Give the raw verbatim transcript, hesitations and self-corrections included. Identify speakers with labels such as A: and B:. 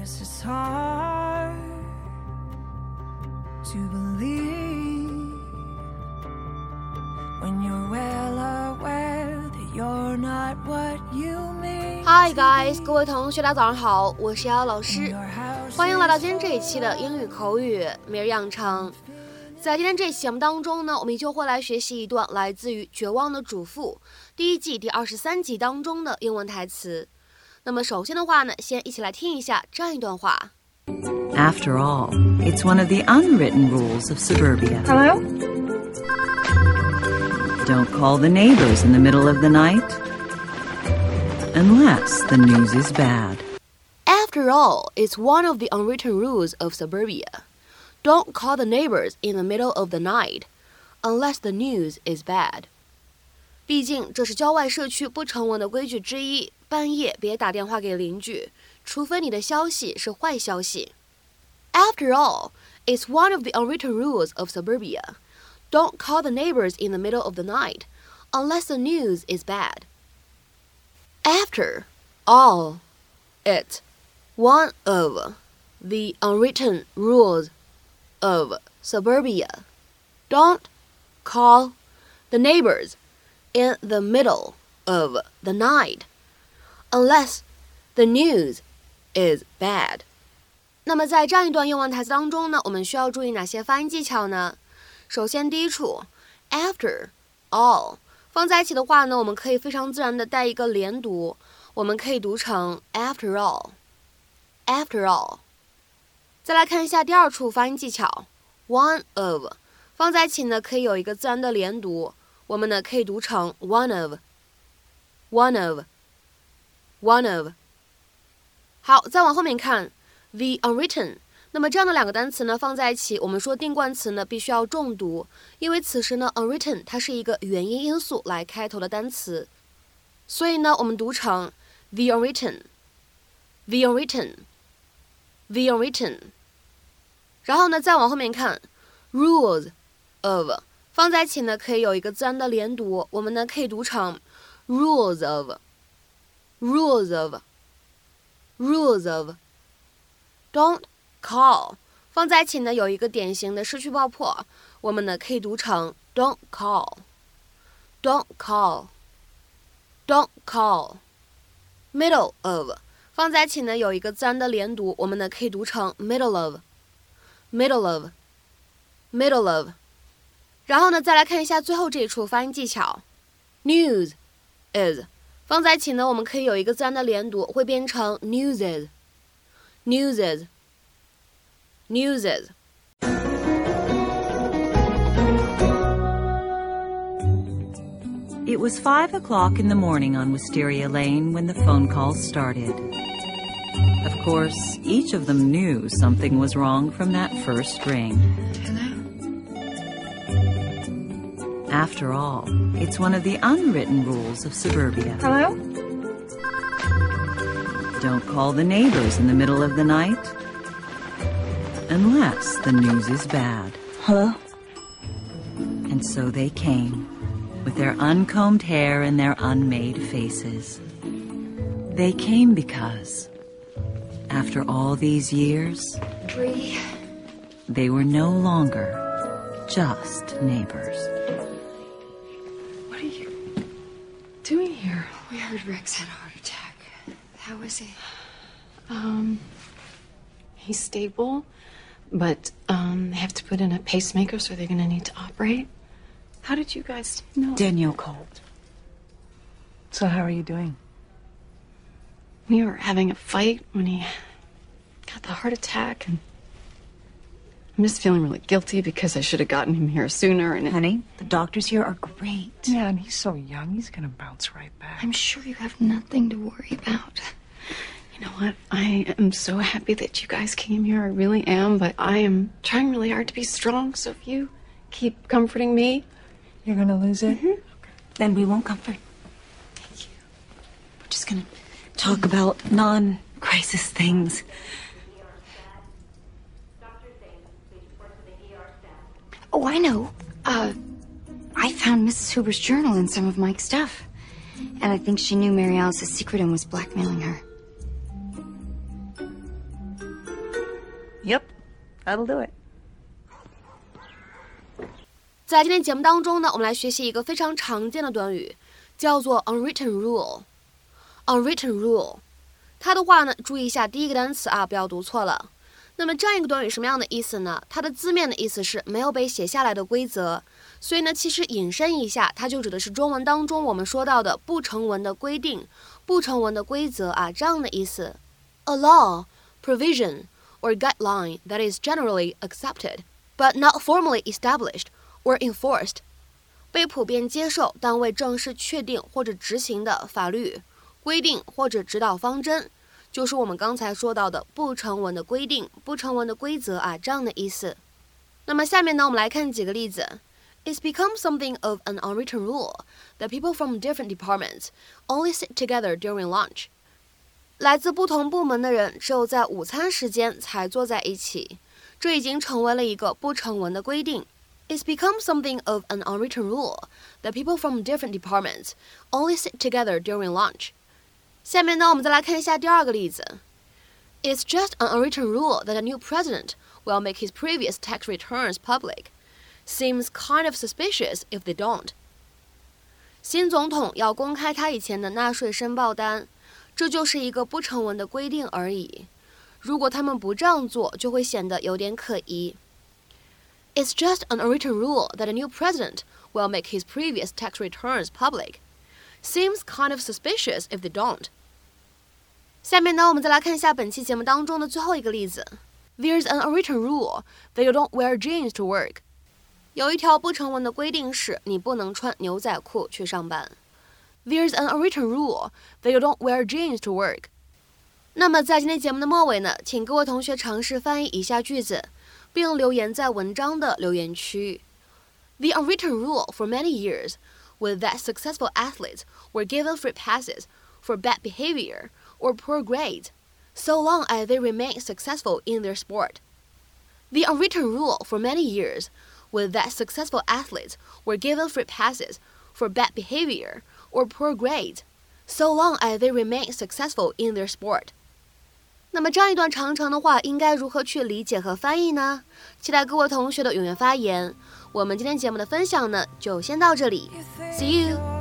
A: Yes, it's hard to believe when you're well aware that you're not what you mean.
B: Hi guys， 各位同学大家早上好，我是瑶瑶老师，欢迎来到今天这一期的英语口语每日养成。在今天这期节目当中呢，我们依旧会来学习一段来自于《绝望的主妇》第一季第二十三集当中的英文台词。那么首先的话呢，先一起来听一下这样一段话。
C: After all, it's one of the unwritten rules of suburbia.
D: Hello?
C: Don't call the neighbors in the middle of the night unless the news is bad.
B: After all, it's one of the unwritten rules of suburbia. Don't call the neighbors in the middle of the night unless the news is bad. 毕竟这是郊外社区不成文的规矩之一，半夜别打电话给邻居，除非你的消息是坏消息。After all, it's one of the unwritten rules of suburbia. Don't call the neighbors in the middle of the night unless the news is bad. After all, it's one of the unwritten rules of suburbia. Don't call the neighbors in the middle of the night unless the news is bad. 那么在这样一段英文台词当中呢，我们需要注意哪些发音技巧呢？首先第一处 after all 放在一起的话呢，我们可以非常自然的带一个连读，我们可以读成 after all after all。 再来看一下第二处发音技巧 one of 放在一起呢，可以有一个自然的连读，我们呢可以读成 one of one of one of。 好，再往后面看 the unwritten， 那么这样的两个单词呢放在一起，我们说定冠词呢必须要重读，因为此时呢 unwritten 它是一个元音因素来开头的单词，所以呢我们读成 the unwritten the unwritten the unwritten。 然后呢再往后面看 rules of 放在一起呢可以有一个自然的连读，我们呢可以读成 rules of rules of rules of。 Don't call 放在一起呢有一个典型的失去爆破，我们呢可以读成 don't call don't call don't call。 middle of 放在一起呢有一个自然的连读，我们呢可以读成 middle of middle of middle of。 然后呢再来看一下最后这一处发音技巧 news is 放在一起呢我们可以有一个自然的连读，会变成 newses newses newses。
C: It was five o'clock in the morning on Wisteria Lane when the phone calls started. Of course, each of them knew something was wrong from that first ring. After all, it's one of the unwritten rules of suburbia.
D: Hello?
C: Don't call the neighbors in the middle of the night unless the news is bad.
D: Hello?
C: And so they came, with their uncombed hair and their unmade faces. They came because, after all these years,
B: Bree,
C: they were no longer just neighbors.
D: What are you doing here?
E: We heard Rex had a heart attack. How is he?
D: Um, he's stable, but um, they have to put in a pacemaker, so they're going to need to operate. How did you guys know?
E: Danielle called.
F: So how are you doing?
D: We were having a fight when he got the heart attack, and I'm just feeling really guilty because I should have gotten him here sooner. And it...
E: Honey, the doctors here are great.
F: Yeah, and he's so young. He's gonna bounce right back.
E: I'm sure you have nothing to worry about.
D: You know what? I am so happy that you guys came here. I really am, but I am trying really hard to be strong. So if you keep comforting me,
F: You're gonna lose it?
D: Mm-hmm.
E: Then we won't comfort.
D: Thank you.
E: We're just gonna talk about non-crisis things. Oh, I know. Uh, I found Missus Hoover's journal and some of Mike's stuff. And I think she knew Mary Alice's secret and was blackmailing her.
F: Yep, that'll do it.
B: 在今天节目当中呢，我们来学习一个非常常见的短语，叫做 unwritten rule。unwritten rule， 它的话呢，注意一下第一个单词啊，不要读错了。那么这样一个短语什么样的意思呢？它的字面的意思是没有被写下来的规则，所以呢，其实引申一下，它就指的是中文当中我们说到的不成文的规定、不成文的规则啊，这样的意思。A law, provision, or guideline that is generally accepted, but not formally established.or enforced， 被普遍接受但未正式确定或者执行的法律规定或者指导方针，就是我们刚才说到的不成文的规定、不成文的规则啊，这样的意思。那么下面呢，我们来看几个例子。It's become something of an unwritten rule that people from different departments only sit together during lunch. 来自不同部门的人只有在午餐时间才坐在一起，这已经成为了一个不成文的规定。It's become something of an unwritten rule that people from different departments only sit together during lunch. 下面呢，我们再来看一下第二个例子。It's just an unwritten rule that a new president will make his previous tax returns public. Seems kind of suspicious if they don't. 新总统要公开他以前的纳税申报单，这就是一个不成文的规定而已。如果他们不这样做，就会显得有点可疑。It's just an unwritten rule that a new president will make his previous tax returns public. Seems kind of suspicious if they don't. 下面呢，我们再来看一下本期节目当中的最后一个例子。There's an unwritten rule that you don't wear jeans to work. 有一条不成文的规定是，你不能穿牛仔裤去上班。There's an unwritten rule that you don't wear jeans to work. 那么在今天节目的末尾呢，请各位同学尝试翻译以下句子，并留言在文章的留言区。The unwritten rule for many years was that successful athletes were given free passes for bad behavior or poor grades, so long as they remained successful in their sport. The unwritten rule for many years was that successful athletes were given free passes for bad behavior or poor grades, so long as they remained successful in their sport. 那么这样一段长长的话应该如何去理解和翻译呢？期待各位同学的踊跃发言。我们今天节目的分享呢，就先到这里。See you!